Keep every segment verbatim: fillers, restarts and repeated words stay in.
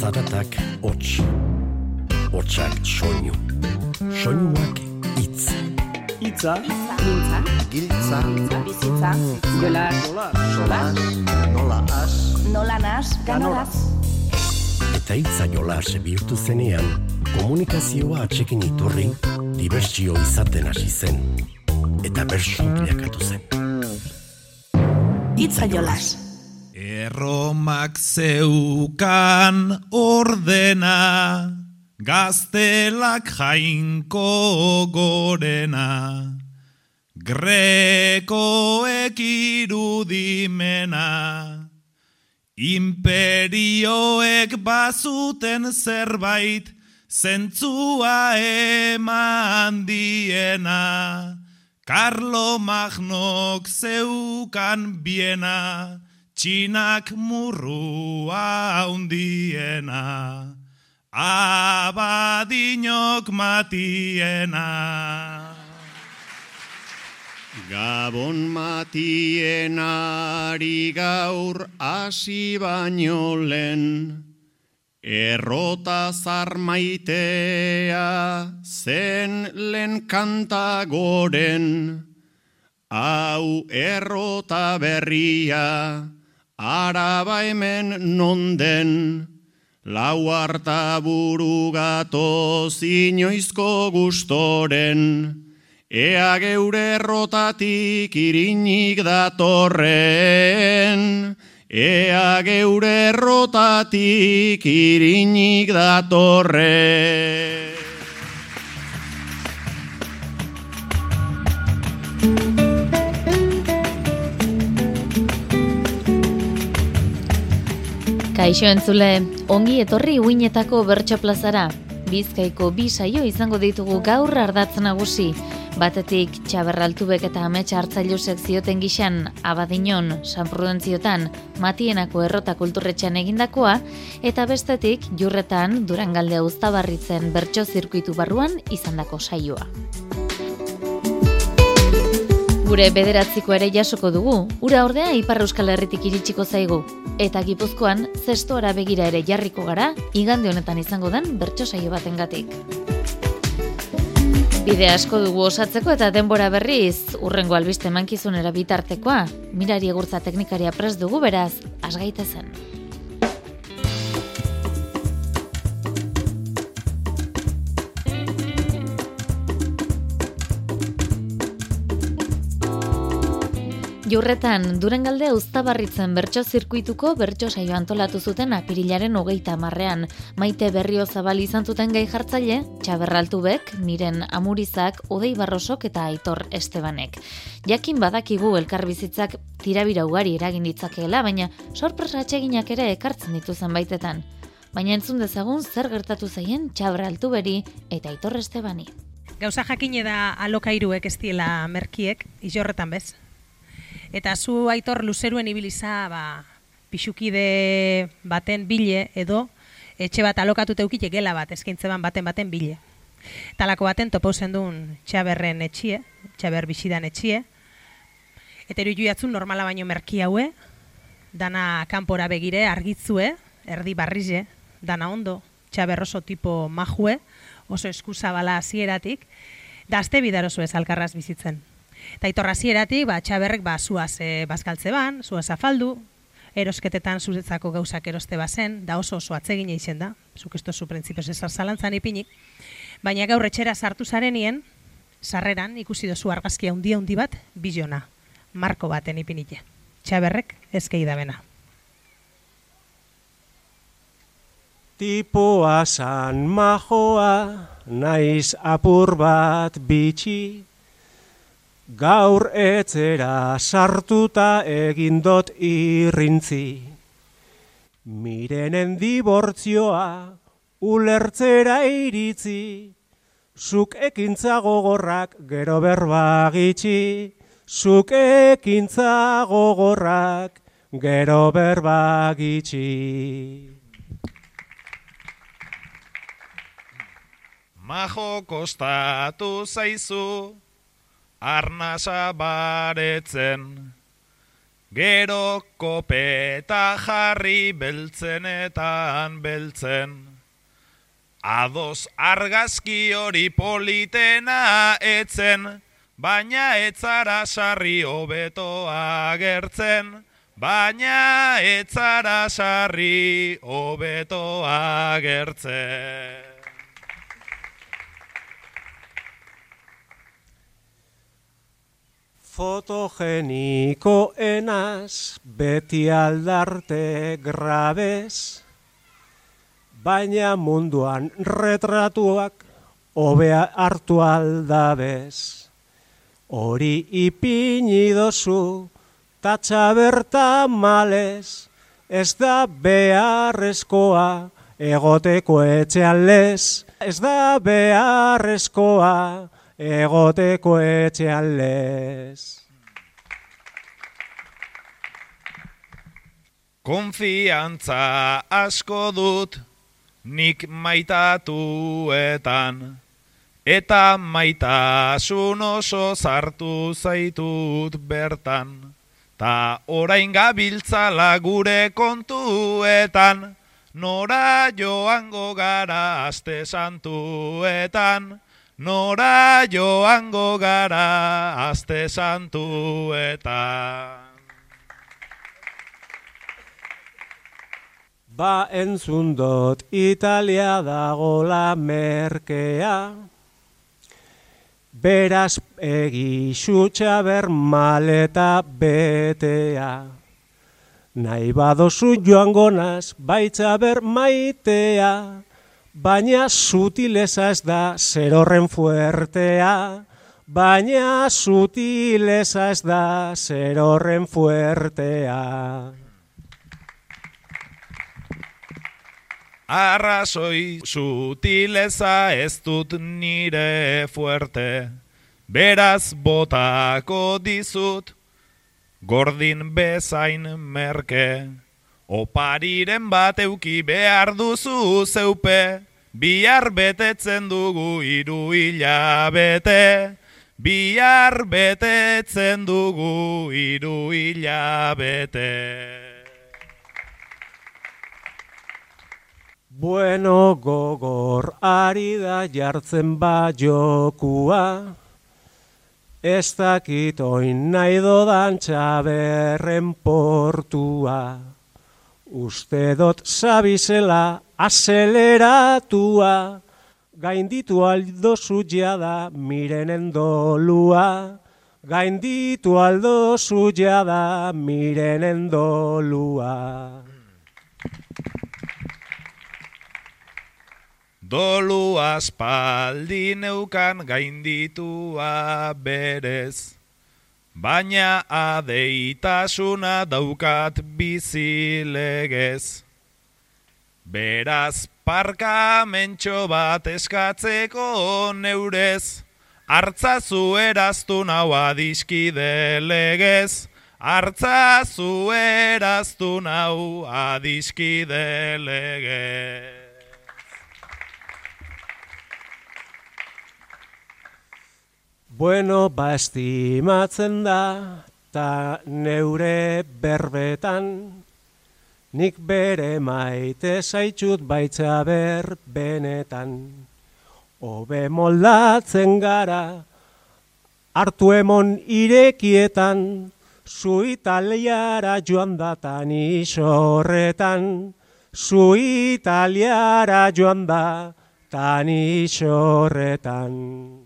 Zaratak hots, hotsak soinu, soinuak hitz. Hitza, Mintza, Giltza, bizitza, jolas, solas, nola has, nola nas, ganoraz. Eta hitza jolas bihurtu zenean, komunikazioa atsekin iturri, dibertsio izaten hasi zen, eta bersu bilakatu zen. Hitza jolas. Erromak zeukan ordena, gaztelak jainko gorena, grekoek irudimena, imperioek bazuten zerbait, zentzua eman diena, Karlo Magnok zeukan biena, txinak murrua hundiena, Abadinok matiena. Gabon matienari gaur hasi baino lehen, errota zarmaitea zen lehen kanta goren, hau errota berria, araba hemen nonden, lau harta buru gatoz inoizko gustoren, ea geure errotatik irinik datorren, ea geure errotatik irinik datorren. Kaixo entzule, ongi etorri uinetako bertso plazara. Bizkaiko bi saio izango ditugu gaur ardatz nagusi. Batetik Txaberraltubek eta Amets Hartzailusek zioten gixan Abadiñon, San Prudentziotan, Matienako errota kulturretxean egindakoa, eta bestetik Jurretan Durangaldea Uztabarritzen bertso zirkuitu barruan izandako saioa. Gure bederatziko ere jasoko dugu, ura ordea Ipar Euskal Herritik iritsiko zaigu. Eta Gipuzkoan, zestoara begira ere jarriko gara, igande honetan izango den bertso saio batengatik. Bide asko dugu osatzeko eta denbora berriz, urrengo albiste mankizunera bitartekoa, Mirari Egurtza teknikaria prest dugu beraz, asgaitezen. Jurretan, Durangaldea Uztabarritzen bertso zirkuituko bertso saio antolatu zuten apirilaren hogeita hamarrean. Maite Berriozabal izan zuten gai jartzaile, Txaberraltubek, Miren Amurizak, Odei Barrosok eta Aitor Estebanek. Jakin badakigu elkarbizitzak tirabira ugari eragin ditzakeela, baina sorpresa atseginak ere ekartzen dituzen baitetan. Baina entzun dezagun zer gertatu zaien Txaberraltuberi eta Aitor Estebani. Gauza jakine da alokairuek ez diela merkiek, izorretan bez. Eta zu Aitor luzeruen ibiliza ba, pixukide baten bile edo etxe bat alokatu teukite gela bat, eskaintzeban baten baten bile. Talako baten topo zendun Txaberren etxie, Txaber bizidan etxie. Eta iru juiatzun normala baino merki haue, dana kanpora begire argitzue, erdi barrize, dana ondo, Txaber oso tipo majue, oso eskuzabala hasieratik, da azte bidarozu ez alkarraz bizitzen. Eta Aitor hasieratik, ba, Txaberrek ba, zuaz e, bazkaltze ban, zuaz afaldu, erosketetan zuretzako gauzak eroste bazen, da oso oso atsegina izen da, zuk ez tozu printzipioz ezar zalantzan ipinik, baina gaur etxera sartu zarenien, sarreran ikusi dozu argazkia handia handi bat, bilona, marko baten ipinike. Txaberrek ezkei da bena. tipoa san majoa, naiz apur bat bitxi, gaur etzera sartuta egindot irrintzi. Mirenen dibortzioa ulertzera iritzi, zuk ekintza gogorrak gero berba gitxi, zuk ekintza gogorrak gero berba gitxi. Majo kostatu zaizu, arnasa baretzen, Gero kopeta jarri beltzenetan beltzen. Ados argazki hori politena etzen, baina etzara sarri hobeto agertzen, baina etzara sarri hobeto agertzen. Fotogeniko enaz, beti aldarte grabez, baina munduan retratuak hobea hartu aldabez. Hori ipini dozu, tatxa berta malez, ez da beharrezkoa egoteko etxean lez, ez da beharrezkoa egoteko etxean lez. Konfiantza asko dut nik maitatuetan, eta maitasun oso sartu zaitut bertan, ta orain gabiltzala gure kontuetan, nora joango gara aste santuetan, nora joango gara aste santuetan. Ba entzun dut Italia dagola merkea, beraz egixutxa ber maleta betea. Nahi badozu joango naz baitza ber maitea, baina sutileza ez da zer horren fuertea, baina sutileza ez da zer horren fuertea. Arrazoi sutileza ez dut nire fuerte, beraz botako dizut, gordin bezain merke. Opariren bat euki behar duzu zeupe, bihar betetzen dugu hiru hilabete, bihar betetzen dugu hiru hilabete. Bueno, gogor ari da jartzen ba jokua, ez dakit oin nahi dodan Txaberren portua. Uste dot zabizela azeleratua, gainditu aldozu jada mirenen dolua, gainditu aldozu jada mirenen dolua. Dolu aspaldi neukan gainditua berez, baina adeitasuna daukat bizilegez. Beraz parkamentxo bat eskatzeko neurez, hartzazu eraztu nau adiskide legez, hartzazu eraztu nau adiskide legez. Bueno, ba estimatzen da, ta neure berbetan, nik bere maite zaitxut baitza ber benetan. Hobe moldatzen gara, hartu emon irekietan, zu Italiara joan datan isorretan, zu Italiara joan datan isorretan.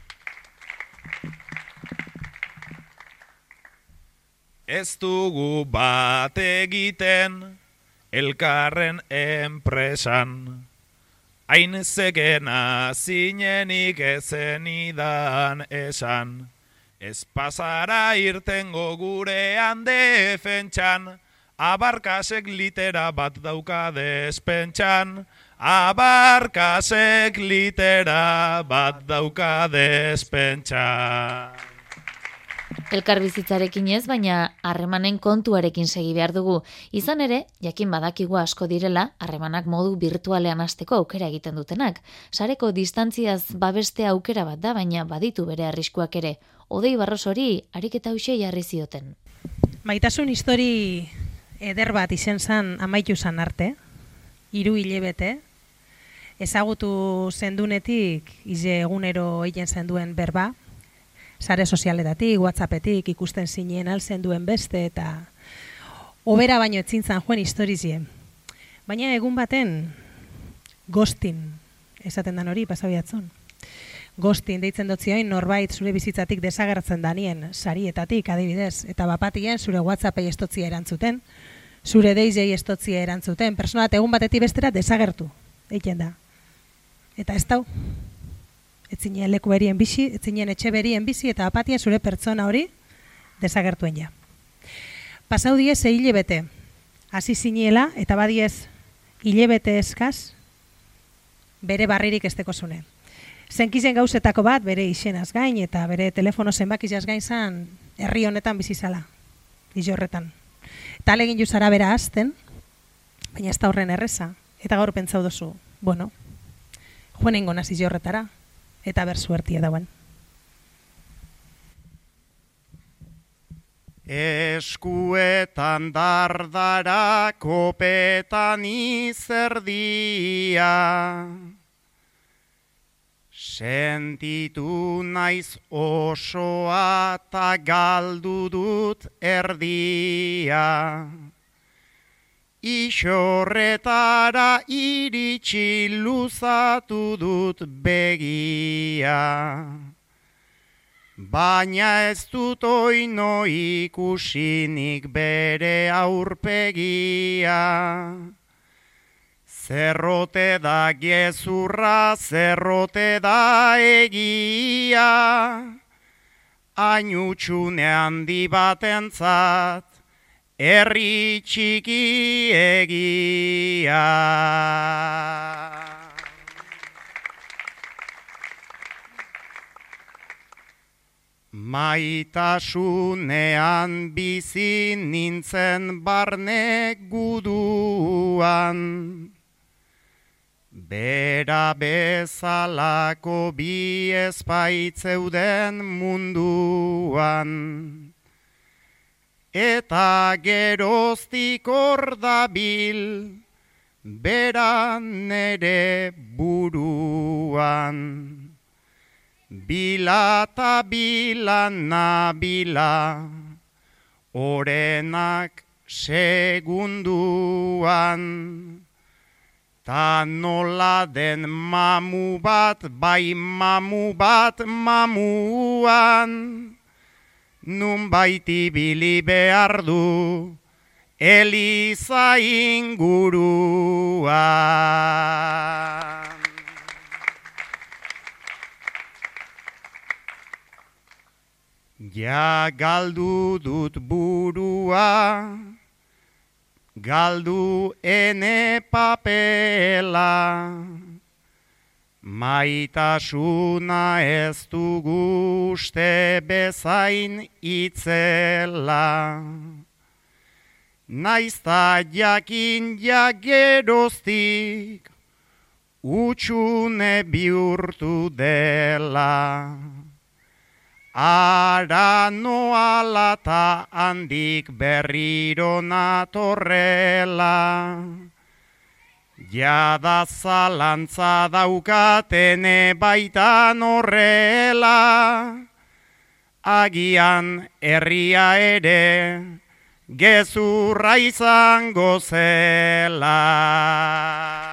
Ez dugu bat egiten elkarren enpresan, hain zekena zinenik ezenidan esan, ez pasara irtengo gurean defentsan, abarkasek litera bat dauka despentsan, abarkasek litera bat dauka despentsan. Elkar bizitzarekin ez, baina harremanen kontuarekin segi behar dugu. Izan ere, jakin badakigu asko direla, harremanak modu virtualean hasteko aukera egiten dutenak. Sareko distantziaz babeste aukera bat da, baina baditu bere arriskuak ere. Odei Barrosori ariketa hauxe jarri zioten. Maitasun histori eder bat izen zan amaitu zan arte, hiru hilebete, ezagutu zendunetik ize egunero egin zenduen berba, sare sozialetatik, WhatsAppetik ikusten zinen alzen duen beste eta obera baino etzintzan joen historizie. Baina egun baten ghosting esaten dan hori pasabiatzon. Ghosting deitzen dotzioin norbait zure bizitzatik desagertzen danien sarietatik adibidez eta bapatien zure WhatsAppei estotzia erantzuten, zure deizei estotzia erantzuten, personat egun batetik bestera desagertu egiten da. Eta ez dau, etzinen leku berien bizi, etzinen etxe berien bizi eta apatia zure pertsona hori desagertuen ja. Pasau diez e hilebete, hasi ziniela eta badiez hilebete eskaz bere barririk esteko zune. Zenkizen gauzetako bat bere izenaz gain eta bere telefono zenbakizaz gain zan herri honetan bizizala, izo horretan. Eta alegin juzara bera azten, baina ez da horren erreza. Eta gaur pentsau dozu, bueno, joan ingo nazi horretara, eta ber suertia dauen. Eskuetan dardara kopetan izerdia, sentitu naiz osoa ta galdu dut erdia. Isorretara iritsi luzatu dut begia. Baina ez dut oino ikusinik bere aurpegia. Zerrote da gezurra, zerrote da egia. Ainutxune handi batentzat, herri txiki egia. Maitasunean bizi nintzen barne guduan, bera bezalako bi ezpaitzeuden munduan. Eta geroztik hor dabil, bera nere buruan. Bila ta bila nabila, orenak segunduan. Ta nola den mamu bat, bai mamu bat mamuan. Nun baiti bili behar du, Eliza inguruan. Ja galdu dut burua, galdu ene papela, maitasuna ez dugu uste bezain itzela. Naizta jakin jageroztik, utxune bihurtu dela. Ara noala ta handik berriro natorrela. Jada zalantza daukatene baitan horrela. Agian herria ere gezurra izango zela.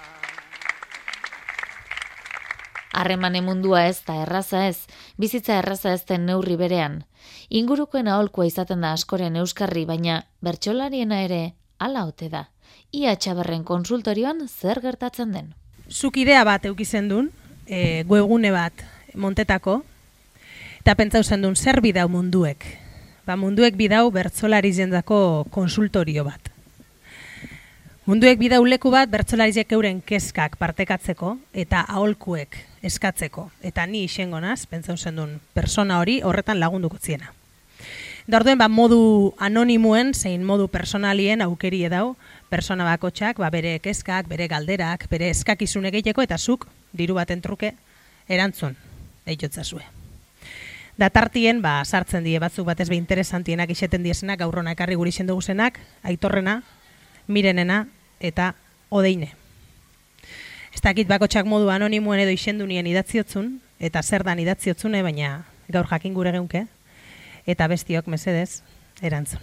Harremane mundua ez da erraza ez, bizitza erraza ez den neurri berean. Ingurukoen aholkua izaten da askoren euskarri, baina bertsolariena ere hala ote da. Ia Txabarren konsultorioan zer gertatzen den. Zuk idea bat eukizen duen, e, webgune bat montetako, eta pentsau zen duen zer bidau munduek. Ba, munduek bidau bertsolari jendako konsultorio bat. Munduek bidau leku bat bertsolarizek euren kezkak partekatzeko eta aholkuek eskatzeko. Eta ni isengo naz, pentsau zen duen persona hori horretan lagunduko ziena. Da orduen, ba, modu anonimuen, zein modu personalien aukeri edau, persona bakotxak, ba, bere kezkak, bere galderak, bere eskakizun egiteko, eta zuk, diru baten truke, erantzun, eitotzazue. Datartien, ba, sartzen die batzuk batez be interesantienak iseten diesenak, gaurrona ekarri guri sendugu zenak, Aitorrena, Mirenena eta Odeine. Ez dakit bakotxak modu anonimoen edo isendunien idatziotzun, eta zer dan idatziotzune, baina gaur jakin gure geunke, eta bestiok mesedez, erantzun.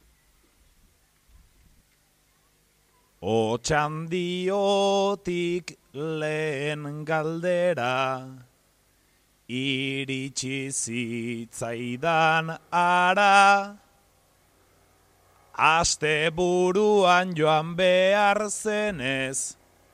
Otxandiotik lehen galdera, iritsi zitzaidan ara, aste buruan joan behar zenez,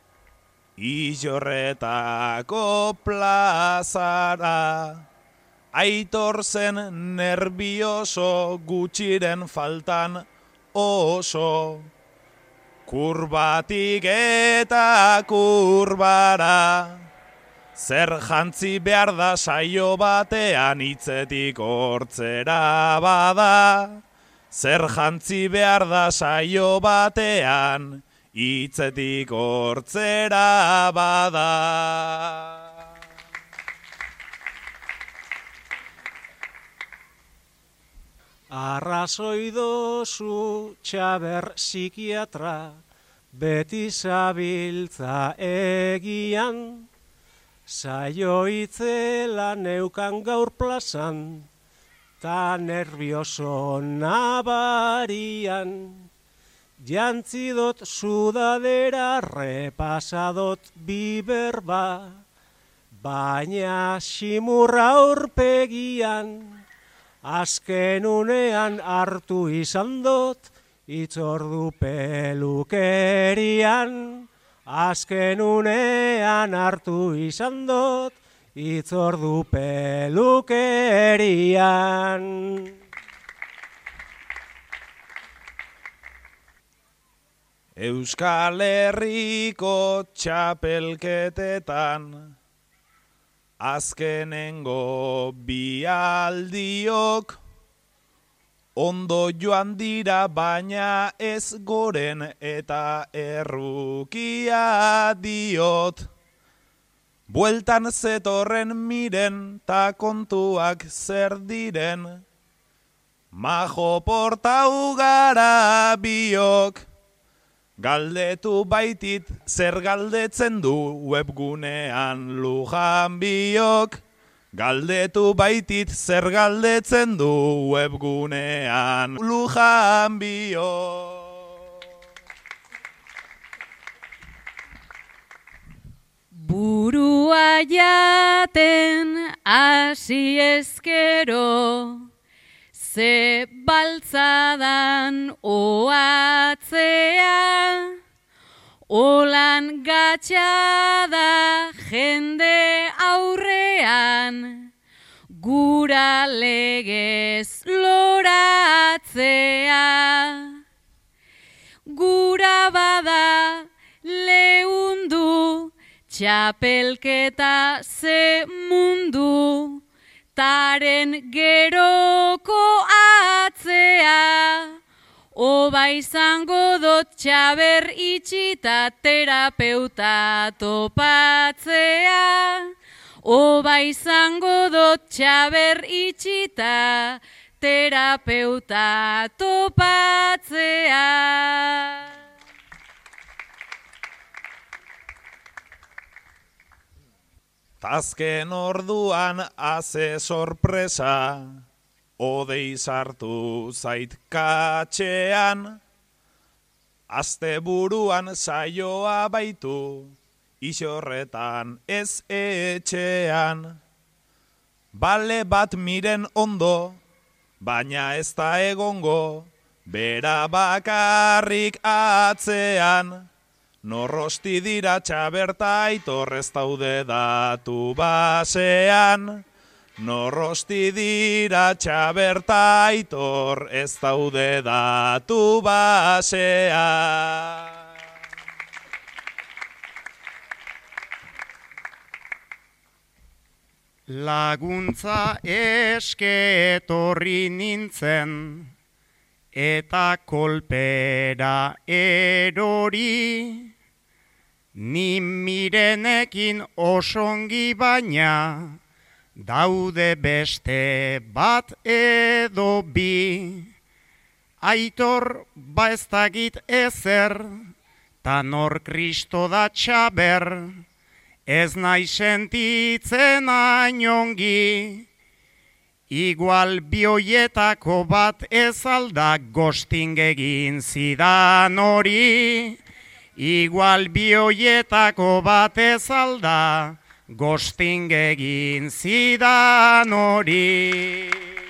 Illorretako plazara, Aitor zen nervioso gutxiren faltan oso, kurbatik eta kurbara, zer jantzi behar da saio batean hitzetik hortzera bada, zer jantzi behar da saio batean hitzetik hortzera bada. Arrazoi dozu Txaber psikiatra, beti zabiltza egian, saio itzela neukan gaur plazan, ta nervioso nabarian. Jantzidot sudadera, repasadot biberba, baina simurra aurpegian, azken unean hartu izan dot, itzordu pelukerian, azken unean hartu izan dot, itzordu pelukerian. Euskal Herriko txapelketetan, azkenengo bialdiok, ondo joan dira baina ez goren eta errukia diot. Bueltan zetorren miren ta kontuak zer diren, majo porta ugara biok. Galdetu baitit zer galdetzen du webgunean Lujan biok. Galdetu baitit zer galdetzen du webgunean Lujan biok. Burua jaten hasi ezkero, ze baltzadan oatzea, olan gatxada jende aurrean, gura legez loratzea. Gura bada leundu, txapelketa ze mundu, taren geroko atzea, oba izango dot Txaber itxita terapeuta topatzea, oba izango dot Txaber itxita terapeuta topatzea. Azken orduan haze sorpresa, odei sartu zait katxean, aste buruan saioa baitu, Illorretan ez etxean. Bale bat miren ondo, baina ez da egongo, bera bakarrik atzean. Norrosti dira Txaberta Aitor ez daude datu basean. Norrosti dira Txaberta Aitor ez daude datu basean. Laguntza eske etorri nintzen, eta kolpera erori, ni Mirenekin osongi baina, daude beste bat edo bi, aitor ba ez dakit ezer, ta nor Kristo da txaber, ez nahi sentitzen ainongi, igual bioietako bat ez alda gosting egin zidan hori, igual bioietako bat ez alda gosting egin zidan hori.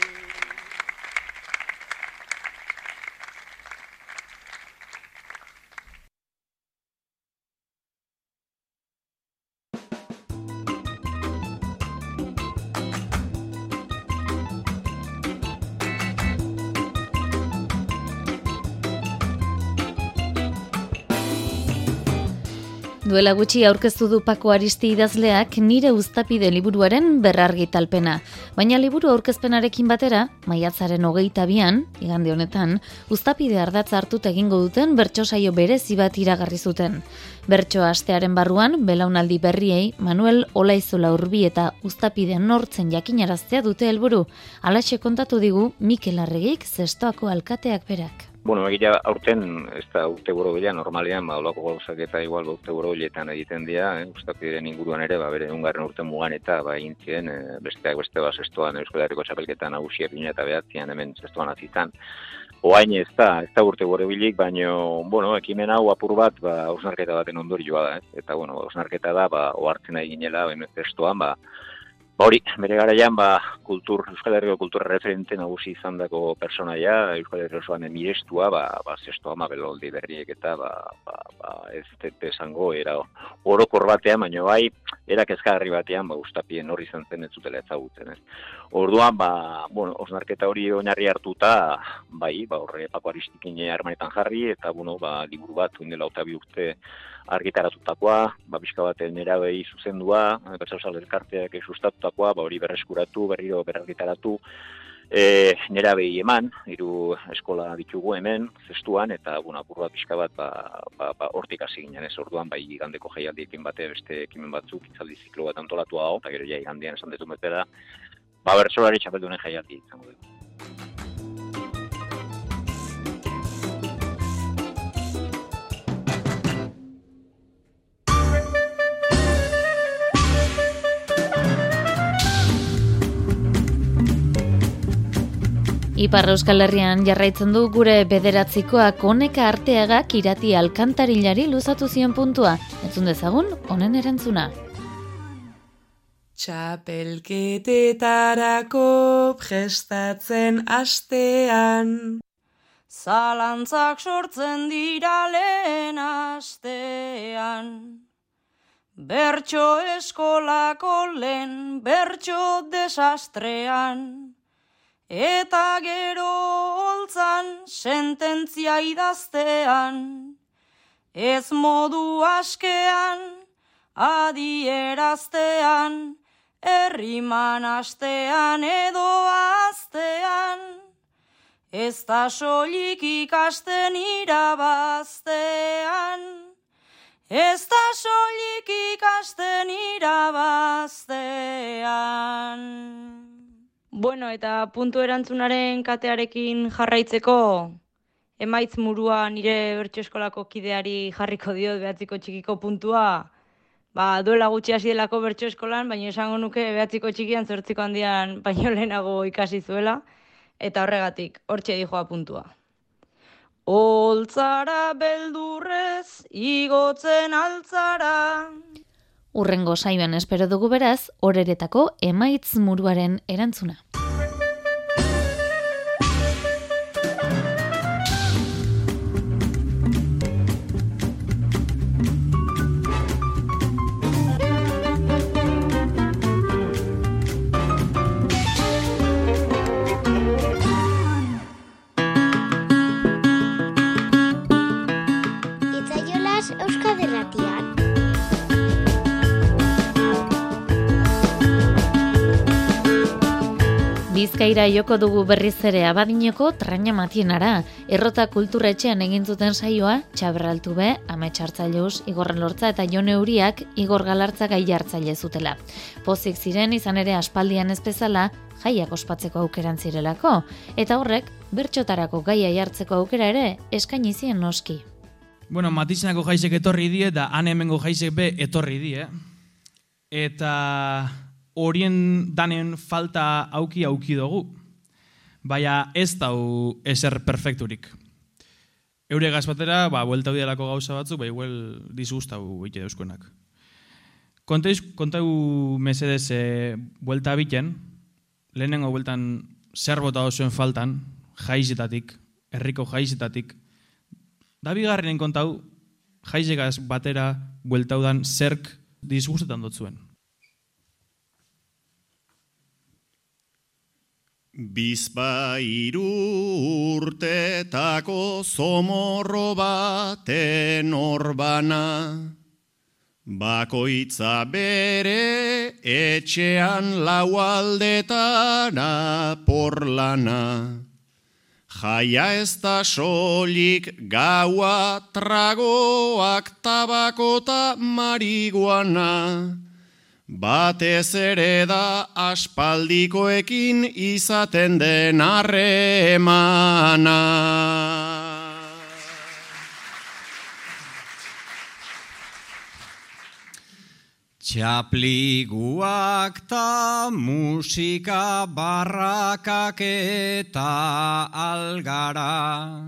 Duela gutxi aurkeztu du Pako Aristi idazleak Nire Uztapide liburuaren berrargitalpena. Baina liburu aurkezpenarekin batera, maiatzaren hogeita bian, igande honetan, Uztapide ardatza hartut egingo duten bertso saio berezi bat iragarri zuten. Bertso astearen barruan, belaunaldi berriei, Manuel Olaizola Urbi eta Uztapide nortzen jakinaraztea dute helburu. Halaxe kontatu digu Mikel Arregik Zestoako alkateak berak. Bueno, egia aurten, ez da urte borobila, normalean, ba, olako gauzak eta igual, ba, urte borobiletan egiten dira, eh, Uztapidearen inguruan ere, ba, bere ungarren urte mugan eta, ba, intzien, e, besteak beste, ba, Zestoan, Euskal Herriko txapelketan nagusia pina eta behatzean, hemen Zestoan azitan. Oain ez da, ez da urte borobilik, baino, bueno, ekimen hau apur bat, ba, hausnarketa baten ondorioa da, eh? Eta, bueno, hausnarketa da, ba, ohartzen ari ginela, ba, Zestoan, ba, Ba hori, bere garaian, ba, kultur, Euskal Herriko kultura referente nagusi izandako personaia, Euskal Herriko osoan mirestua, ba, ba, Zestoa ma beloldi berriek eta, ba, ba, ba, ez dut esango, era orokor batean, baina bai, era kezkagarri batean, ba, Uztapien hori izan zen ez zutela ezagutzen, ez. Orduan, ba, bueno, osnarketa hori oinarri hartuta, bai, ba, horre Pako Aristikin harmanetan jarri, eta, bueno, ba, liburu bat, uindela otabi urte argitaratutakoa, ba, pixka baten nerabei zuzendua, Bertsauzale elkarteak sustatutakoa, ba, hori berreskuratu, berriro berargitaratu, e, nerabei eman, hiru eskola ditugu hemen, Zestuan, eta, bueno, apur bat pixka bat, ba, ba, ba, hortik hasi ginen, ez orduan, bai, igandeko jaialdiekin bate, beste ekimen batzuk, itzaldi ziklo bat antolatua hau, eta gero ja igandean esan dezun betera, ba, bertsolari txapeldunen jaialdi izango dugu. Ipar Euskal Herrian jarraitzen du gure bederatzikoak Oneka Arteagak Irati Alkantarilari luzatu zion puntua. Entzun dezagun, honen erantzuna. Txapelketetarako prestatzen astean, zalantzak sortzen dira lehen astean. Bertso eskolako lehen bertso desastrean, eta gero holtzan sententzia idaztean, ez modu askean, adieraztean, erriman astean edo aztean, ez da soilik ikasten irabaztean, ez da soilik ikasten irabaztean. Bueno, eta puntu erantzunaren katearekin jarraitzeko, emaitz murua nire bertso eskolako kideari jarriko diot behatziko txikiko puntua. Ba, duela gutxi hasi delako bertso eskolan, baina esango nuke behatziko txikian zortziko handian baino lehenago ikasi zuela, eta horregatik, hortxe dijoa puntua. Holtzara beldurrez, igotzen altzara. Urrengo saioan espero dugu beraz, horeretako emaitz muruaren erantzuna. Itzaiolas Euskadi Irratian. Bizkaira joko dugu berriz ere Abadinoko Traina Matienara. Errota kulturetxean egin zuten saioa, Txaberraltu be, Amets Hartzaileus, Igor Lortza eta Jon Euriak Igor Galartza gai hartzaile zutela. Pozik ziren izan ere aspaldian ez bezala, jaiak ospatzeko aukeran zirelako, eta horrek bertxotarako gaia jartzeko aukera ere eskaini zien noski. Bueno, Matizenako jaisek etorri die, da han hemengo jaisek be etorri die. Eta horien danen falta auki auki dugu. Baina ez dau eser perfekturik. Eure gazbatera, ba, bueltau dialako gauza batzu, ba, igual disgustau ite dauzkoenak. Kontau mesedez e, buelta biten, lehenengo bueltan zer bota zuen faltan, jaizetatik, herriko jaizetatik. Da bigarrenen kontau, jaizegaz batera bueltaudan zerk disgustetan dut zuen. Bizpairu urtetako zomorro baten orbana, bakoitza bere etxean lau aldetara porlana. Jaia ez da solik gaua tragoak tabakota mariguana, batez ere da aspaldikoekin izaten den harremana. Txapliguak ta musika barrakak eta algara,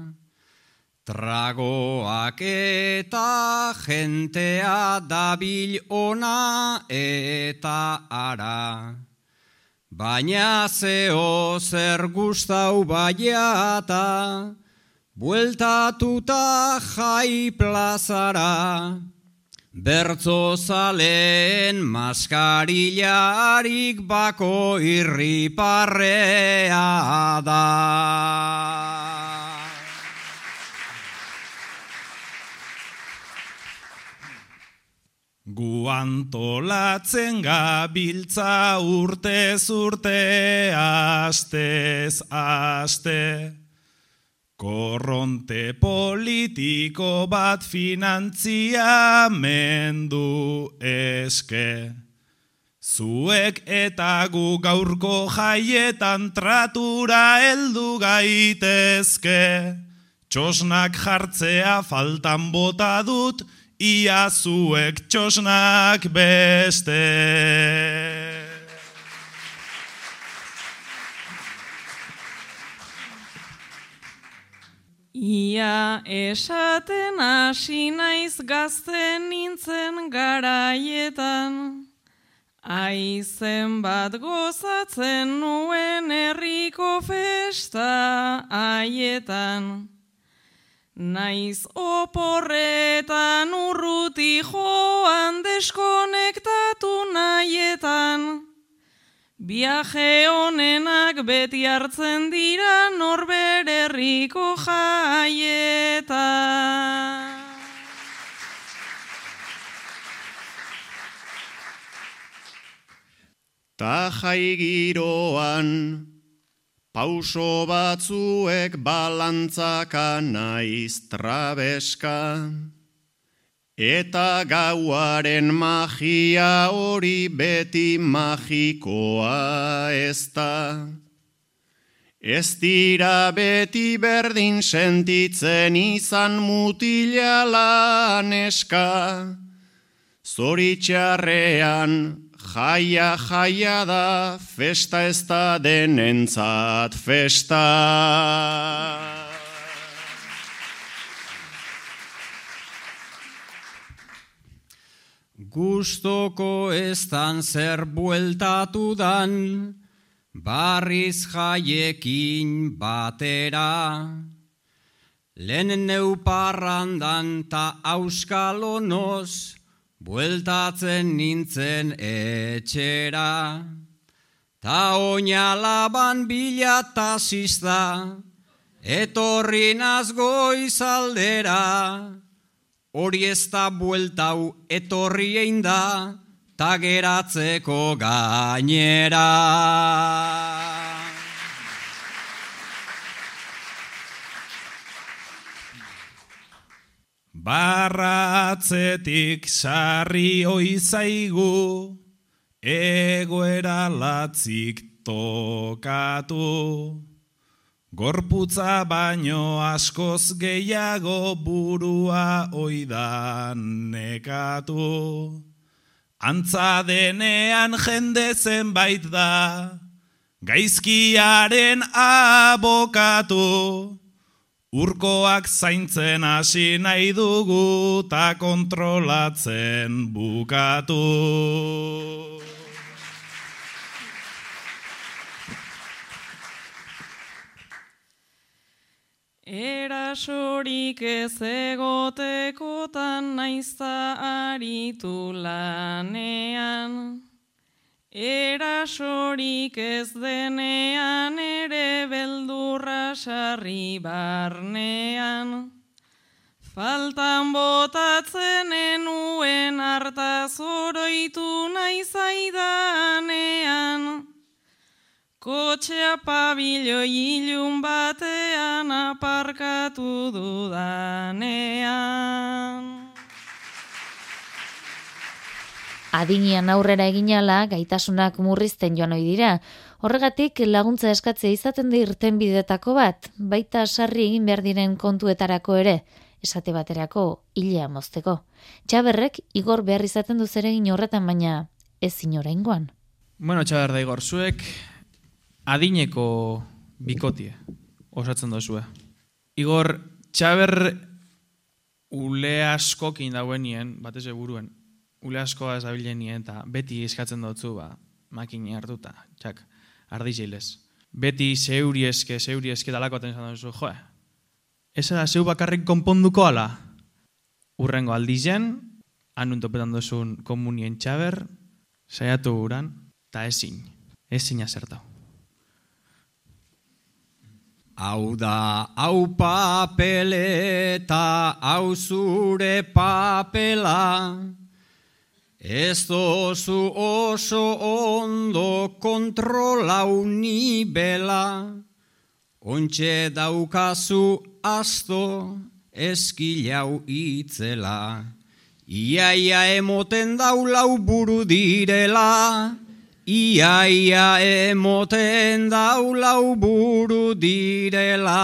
tragoak eta jentea dabil ona eta ara. Baina zeo zer gustau baiata, bueltatuta jai plazara, bertzo zaleen maskarillarik bako irriparrea da. Gu antolatzen gabiltza urtez urte, astez aste. Korronte politiko bat finantziamendu eske. Zuek eta gu gaurko jaietan tratura heldu gaitezke. Txosnak jartzea faltan bota dut, ia zuek txosnak beste. Ia esaten hasi naiz gazten nintzen garaietan, aizen bat gozatzen nuen herriko festa haietan. Naiz oporretan urruti joan deskonektatu nahietan, viaje honenak beti hartzen dira norbere herriko jaietan. Ta jai giroan, pauso batzuek balantzaka naiz trabeska, eta gauaren magia hori beti magikoa ez da. Ez dira beti berdin sentitzen izan mutila laneska, zoritxarrean jaia jaia da, festa ez da denentzat festa. Gustoko eztan zer bueltatu dan, barriz jaiekin batera. Lehen neuparrandan ta auskalonoz, bueltatzen nintzen etxera. Ta oinalaban bilatazizta, etorri naz goizaldera. Hori ez da bueltau etorri egin da, ta geratzeko gainera. Barratzetik sarri oizaigu, egoera latzik tokatu. Gorputza baino askoz gehiago burua oidan nekatu. Antza denean jende zenbait da, gaizkiaren abokatu. Urkoak zaintzen hasi nahi dugu ta kontrolatzen bukatu. Erasorik ez egotekotan naizta aritu lanean. Erasorik ez denean ere beldurra sarri barnean. Faltan botatzen enuen hartaz oroitu naizaidanean. Kotxea pabiloi ilun batean aparkatu dudanean. Adinian aurrera eginala gaitasunak murrizten joan ohi dira. Horregatik laguntza eskatzea izaten da irtenbidetako bat, baita sarri egin behar diren kontuetarako ere, esate baterako hilea mozteko. Txaberrek Igor behar izaten du zeregin horretan, baina ez oraingoan. Bueno, Txaber da Igor, zuek adineko bikotie osatzen dozue. Igor, Txaber ule askokin dauenien, batez buruen, ule askoa ezabilenien, eta beti eskatzen dutzu, ba, makini hartuta, txak, ardizeilez. Beti zeuri eske, zeuri eske dalakoaten izan duzu, joe, ez da zeu bakarrik konponduko ala. Urrengo aldizen, anun topetan duzun komunien Txaber, saiatu uran, eta ezin, ezin azertau. Hau da, hau papeleta, hau zure papela, ez dozu oso ondo kontrolau nibela, ontxe daukazu asto eskilau itzela, iaia emoten daulau buru direla, Iaia emoten daulau buru direla.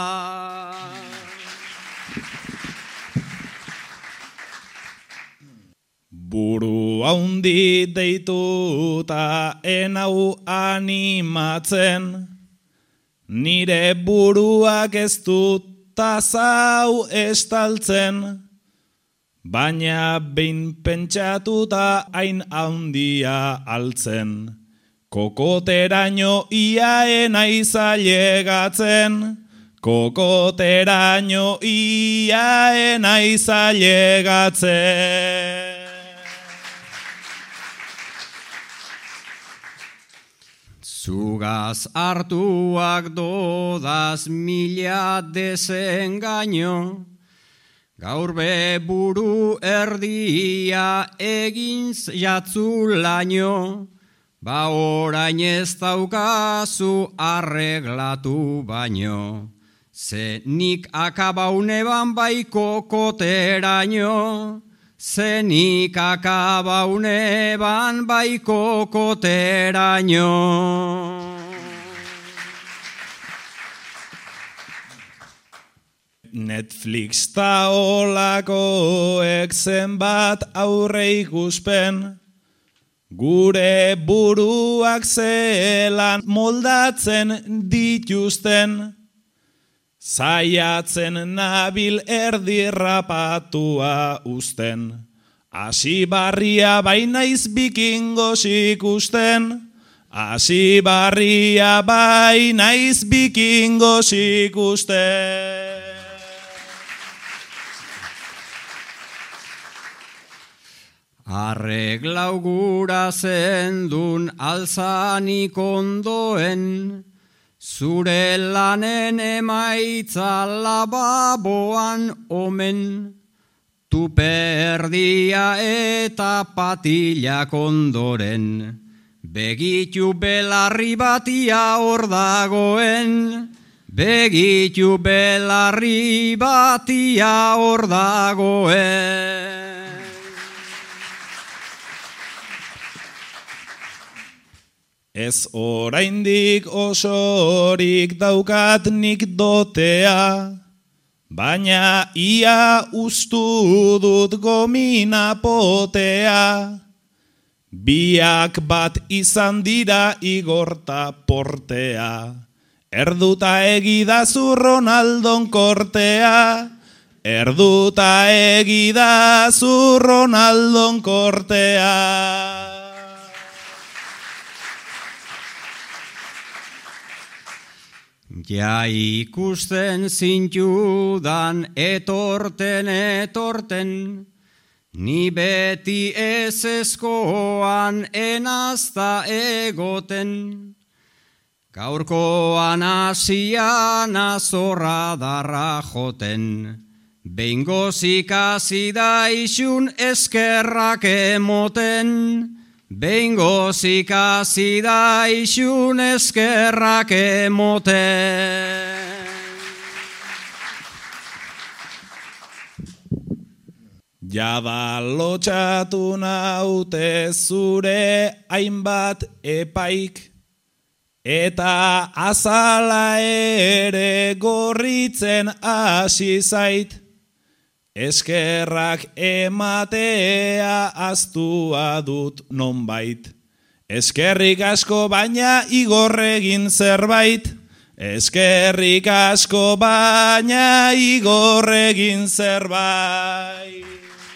Buru haundi deituta enau animatzen, nire buruak ez dut tazau estaltzen, baina behin pentsatuta hain handia altzen. Kokoteraino iaen aizailegatzen, kokoteraino iaen aizailegatzen. Zugaz hartuak dodaz mila desengaino, gaur be buru erdia egin jatzulaino, ba orain ez daukazu arreglatu baino. Ze nik akabauneban bai kokoteraino, ze nik akabauneban bai kokoteraino. Netflix ta olakoek zenbat aurre ikuspen, gure buruak zelan moldatzen dituzten, zaiatzen nabil erdirrapatua uzten, hasi barria bainaiz bikingos ikusten, hasi barria bainaiz bikingos ikusten. Arreglau gura zendun alzanik ondoen, zure lanen emaitza lababoan omen, tuperdia eta patilak ondoren, begitu belarri batia hor dagoen, begitu belarri batia hor dagoen. Ez oraindik osorik daukat nik dotea, baina ia ustu dut gomina potea. Biak bat izan dira igorta portea, erduta egidazu Ronaldon kortea, erduta egidazu Ronaldon kortea. Ja ikusten zintudan etorten etorten, ni beti ezezkoan enazta egoten. Gaurkoan asian azorra darra joten, behingoz ikasi da isun eskerrak emoten. Behingoz ikasi da isun eskerrak emoten. Jada lotxatu naute zure hainbat epaik, eta azala ere gorritzen hasi zait. Eskerrak ematea aztua dut nonbait. Eskerrik asko baina igorregin zerbait. Eskerrik asko baina igorregin zerbait.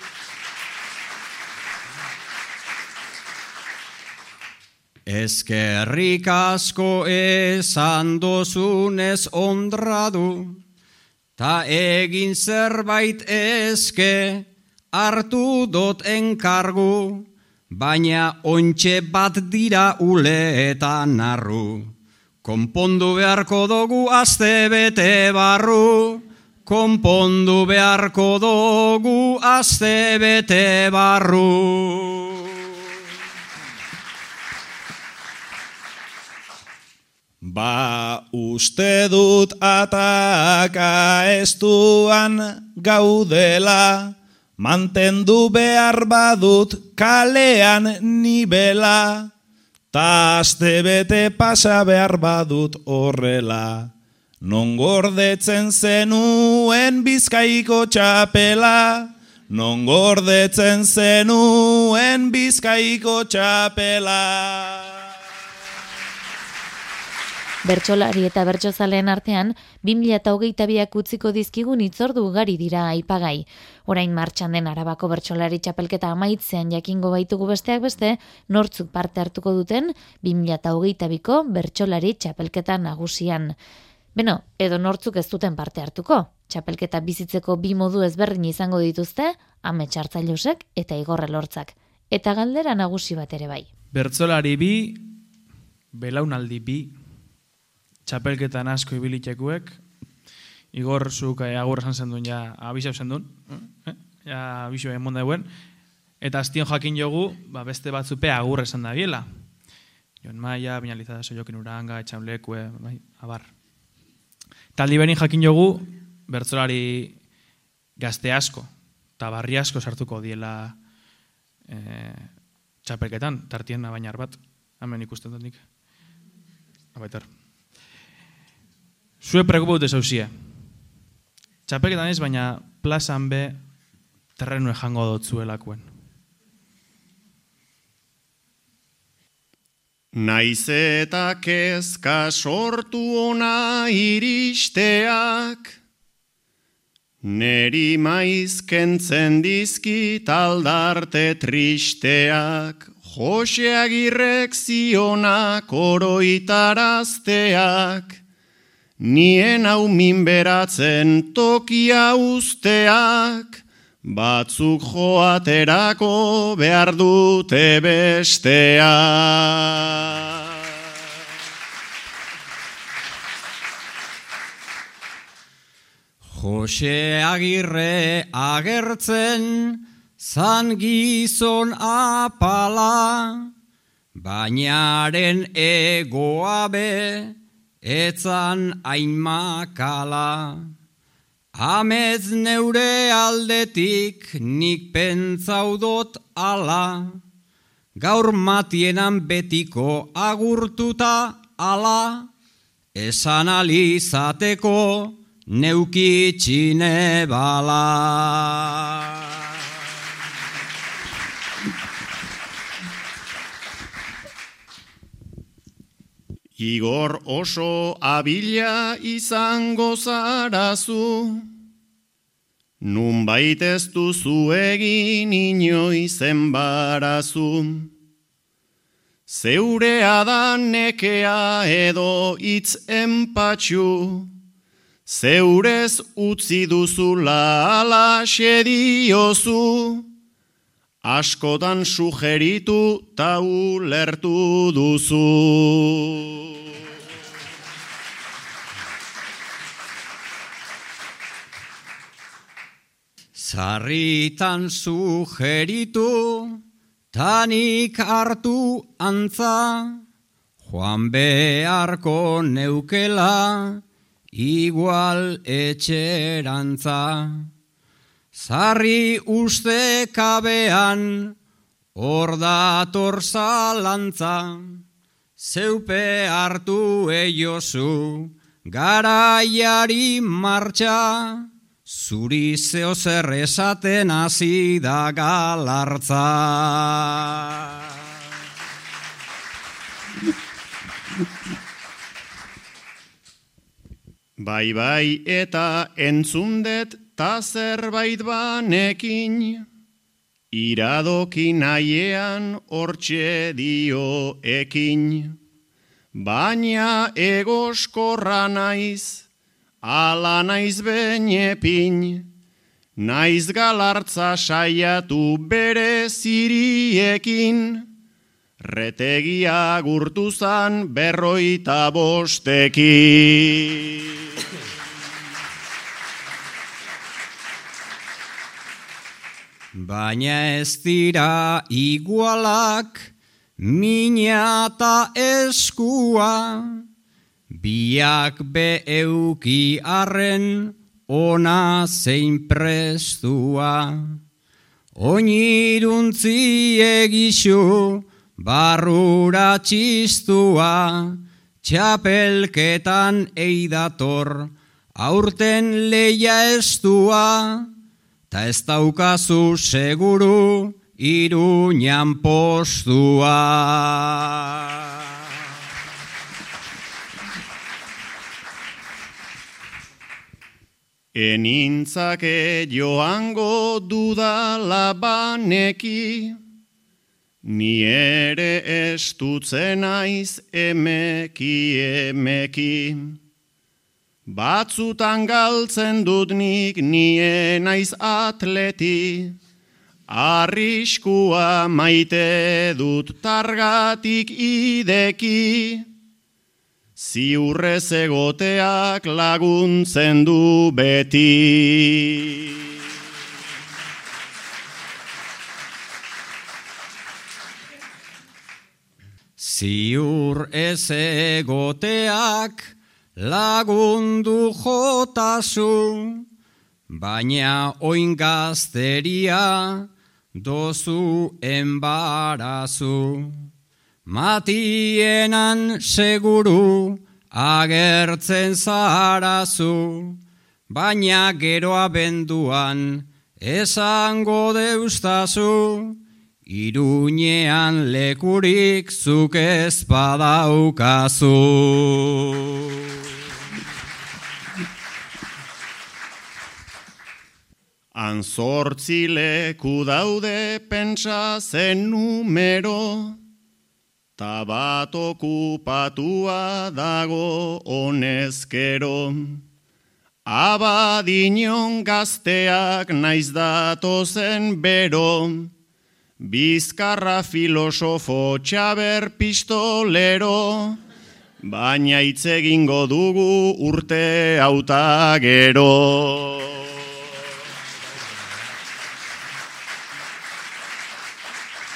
Eskerrik asko esan dozunez ondradu, ta egin zerbait eske hartu dot enkargu, baina ontxe bat dira ule eta narru. Konpondu beharko dugu aste bete barru, konpondu beharko dugu aste bete barru. Ba uste dut ataka estuan gaudela, mantendu behar badut kalean nibela, ta aste bete pasa behar badut horrela. Non gordetzen zenuen Bizkaiko txapela, non gordetzen zenuen Bizkaiko txapela. Bertsolari eta bertsozaleen artean, bi mila hogeita biak utziko dizkigun hitzordu ugari dira aipagai. Orain martxan den Arabako bertsolari txapelketa amaitzean jakingo baitugu besteak beste, nortzuk parte hartuko duten bi mila hogeita biko bertsolari txapelketa nagusian. Beno, edo nortzuk ez duten parte hartuko. Txapelketa bizitzeko bi modu ezberdin izango dituzte, amets hartzaileusek eta Igor Elortzak. Eta galdera nagusi bat ere bai. Bertsolari bi, belaunaldi bi, txapelketan asko ibilitekuek, Igor zuk agur esan zendun, ja abisau zendun, eh? ja abisau emon dauen, eta aztion jakin jogu, ba, beste batzupe agur esan da biela. Jon Maia, Binalizada, Soiokin Uranga, Etxaulekue, bai, abar. Taldi berin jakin jogu, bertsolari gazte asko, eta barri asko sartuko diela eh, txapelketan, tartien abainar bat, hemen ikusten dut nik. Abaitar. Zue preokupatu zauzie. Txapelketan ez, baina plazan be terrenu ejango dut zuelakuen. Naiz eta kezka sortu ona iristeak, neri maiz kentzen dizkit aldarte tristeak, Jose Agirrek zionak oroitarazteak, nien hau minberatzen tokia usteak, batzuk joaterako behar dute bestea. Jose Agirre agertzen zan gizon apala, bainaren egoa be etzan hain makala. Amez neure aldetik nik pentsaudot ala, gaur matienan betiko agurtuta ala, esan alizateko neukitxine bala. Igor oso abila izango zarazu, nunbait ez duzu egin inoiz enbarazu. Zeurea da nekea edo hitz enpatxu, zeurez utzi duzula alaxe diozu, askotan sugeritu ta ulertu duzu. Zarritan sugeritu, tanik hartu antza, joan beharko neukela, igual etxerantza. Zarri uste kabean, hor dator zalantza, zeupe hartu eiozu, garaiari martxa, zuri zeo zer esaten hasi da galartza. Bai bai eta entzundet ta zerbait banekin, iradoki nahiean hortxe dio ekin. Baina egoskorra naiz, ala naiz benepin, naiz galartza saiatu bere ziriekin, retegia gurtuzan berroita bostekin. Baina ez dira igualak, mina eta eskua, biak be euki arren ona zein prestua. Oiniruntzi egixu, barrura txistua, txapelketan eidator, aurten leia estua, ta ez daukazu seguru Iruñan postua. Enintzake joango dudala baneki, ni ere estutzen naiz emeki emeki. Batzutan galtzen dut nik nie naiz atleti, arriskua maite dut targatik ideki, ziurrez egoteak laguntzen du beti. Ziur ez egoteak lagundu jotazu, baina oin gazteria dozu enbarazu. Matienan seguru agertzen zarazu, baina gero abenduan esango deustazu, Iruñean lekurik zuk ez badaukazu. Han zortzi leku daude pentsa zen numero, ta bat okupatua dago honezkero. Abadinon gazteak naiz datozen bero, Bizkarra filosofo txaber pistolero, baina hitz egingo dugu urte hauta gero.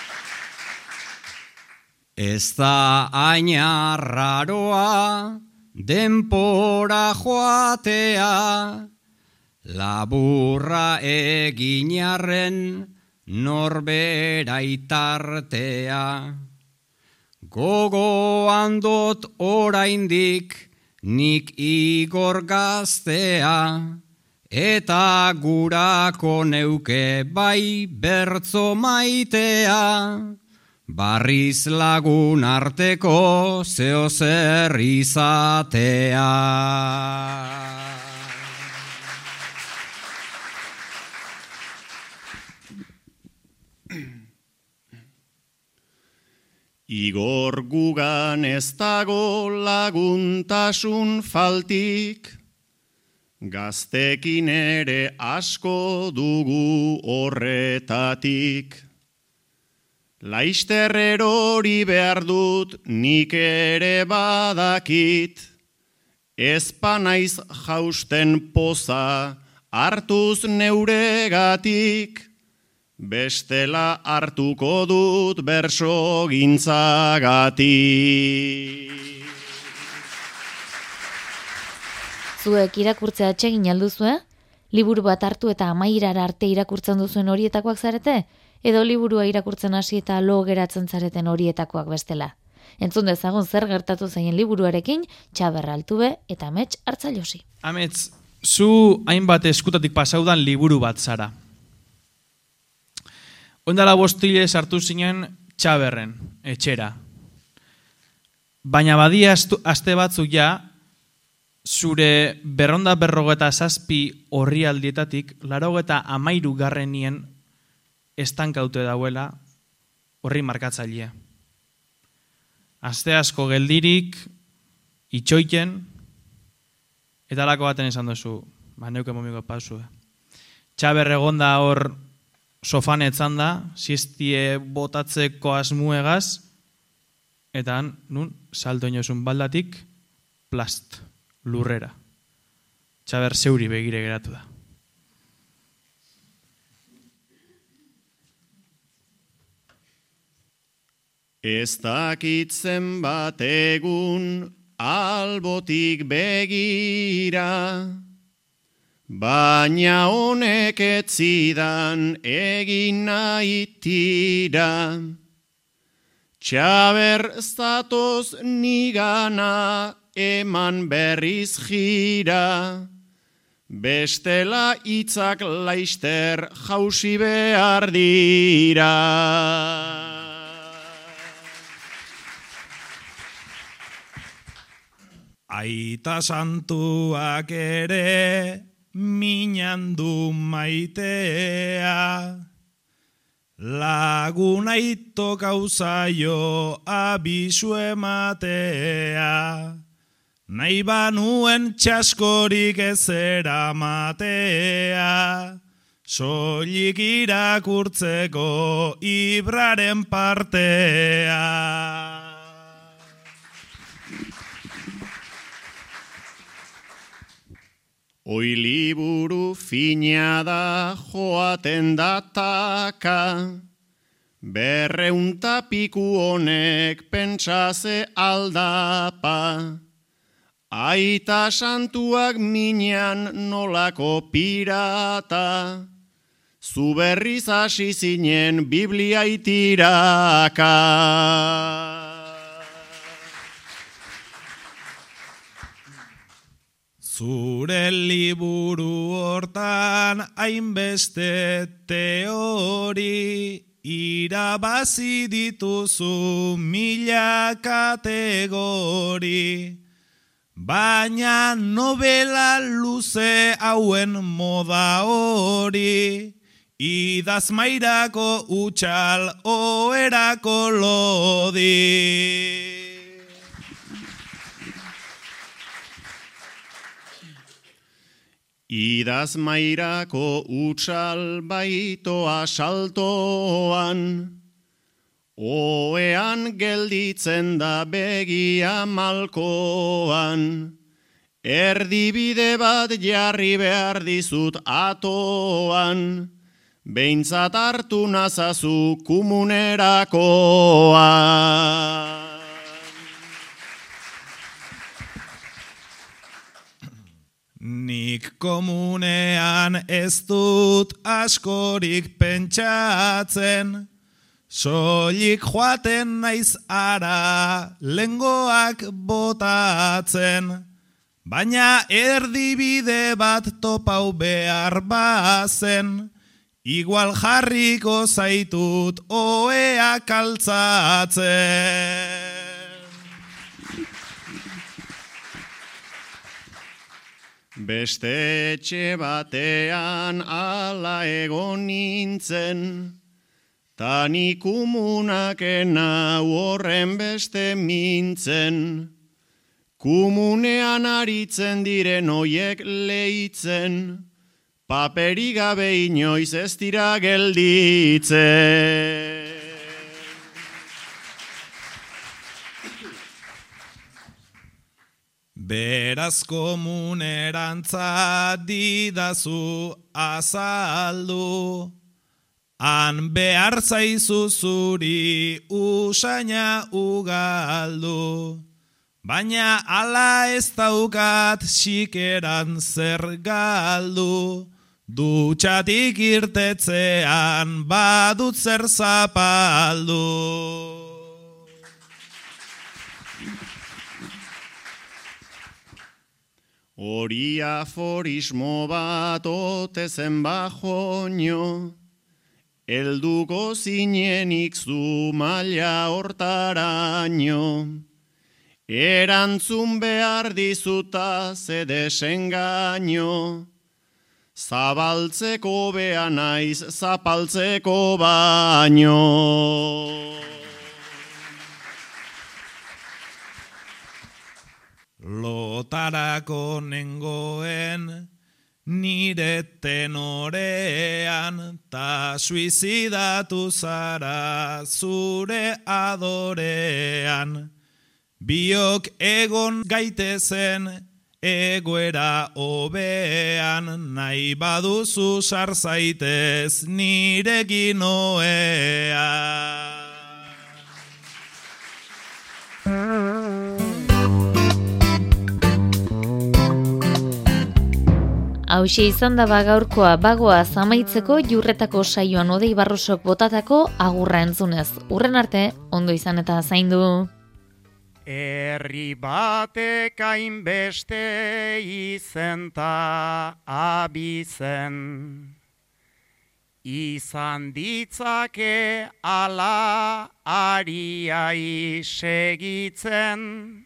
Ez da haina raroa, denpora joatea, laburra eginarren norbera itartea. Gogoan dot oraindik nik igor gaztea, eta gurako neuke bai bertzo maitea, barriz lagun arteko zeo zer izatea. Igor gugan ez dago laguntasun faltik, gaztekin ere asko dugu horretatik. Laister erori behar dut nik ere badakit, ezpa naiz jausten poza hartuz neuregatik, bestela hartuko dut berso gintzagatik. Zuek irakurtzea atsegin alduzue? Liburu bat hartu eta amairara arte irakurtzen duzuen horietakoak zarete? Edo liburua irakurtzen hasi eta lo geratzen zareten horietakoak bestela? Entzun dezagun zer gertatu zaien liburuarekin, Txaber Altube eta Amets Hartzailosi. Amets, zu hainbat eskutatik pasaudan liburu bat zara. Ondala bostile sartu zinen Txaberren, etxera. Baina badia aste batzuk ja, zure berronda berrogeta zazpi horri aldietatik, larogeta amairu garrenien estankaute dauela horri markatzailea. Aste asko geldirik, itxoiten, eta lako baten esan duzu, ba neuke momiko pausu. Txaber egonda hor sofan etzan da, siestie botatzeko asmuegaz, eta han, nun, salto inosun baldatik, plast, lurrera. Txaber zeuri begire geratu da. Ez dakitzen bat egun albotik begira, baina honek etzidan egin nahi tira. Txaber zatoz nigana eman berriz jira, bestela hitzak laister jausi behar dira. Aita santuak ere minandu maitea, lagun aito gauzaio abisu ematea, nahi banuen txaskorik ezera matea, soilik irakurtzeko ibraren partea. Oi liburu fina da joaten dataka, berreunta piku honek pentsaze aldapa. Aita santuak minean nolako pirata, zu berriz hasi zinen Biblia itiraka. Zure liburu hortan hainbeste teori, irabazi dituzu mila kategori, baina novela luze hauen moda hori, idazmairako utxal oherako lodi. Idazmairako utxal baitoa saltoan, oean gelditzen da begia malkoan, erdibide bat jarri behar dizut atoan, behintzat hartu nazazu kumunerakoan. Nik komunean ez dut askorik pentsatzen, soilik joaten naiz ara lengoak botatzen, baina erdibide bat topau behar bazen, igual jarriko zaitut oea kaltzatzen. Beste etxe batean ala egon nintzen, ta ni kumunakena horren beste mintzen. Kumunean aritzen diren oiek leitzen, paperik gabe inoiz ez dira gelditzen. Beraz komunerantza didazu azaldu, han behar zaizu zuri usaina ugaldu, baina ala ez daukat xikeran zer galdu, dutxatik irtetzean badut zer zapaldu. Hori aforismo bat ote zen bajoño, helduko zinenik zu maila hortaraino. Erantzun behar dizuta ze desengaino, zabaltzeko bea naiz zapaltzeko baino. Lotarako nengoen nire tenorean, ta suizidatu zara zure adorean. Biok egon gaitezen egoera hobean, nahi baduzu sarzaitez nirekin oean. Hauxe izan da gaurkoa bagoaz amaitzeko Jurretako saioan Odei Barrosok botatako agurra entzunez. Urren arte, ondo izan eta zaindu. Herri batek hainbeste izen ta abizen, izan ditzake ala ariai segitzen,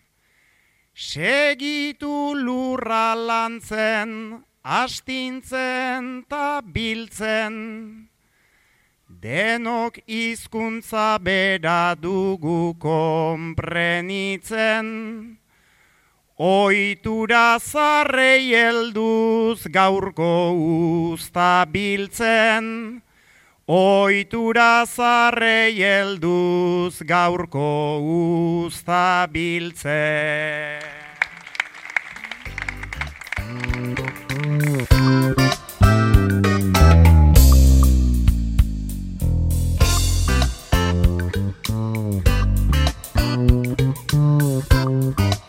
segitu lurra lantzen, astintzen ta biltzen, denok hizkuntza bera dugu konprenitzen, ohitura zarrei helduz gaurko uzta biltzen, ohitura zarrei helduz gaurko uzta biltzen. Thank you.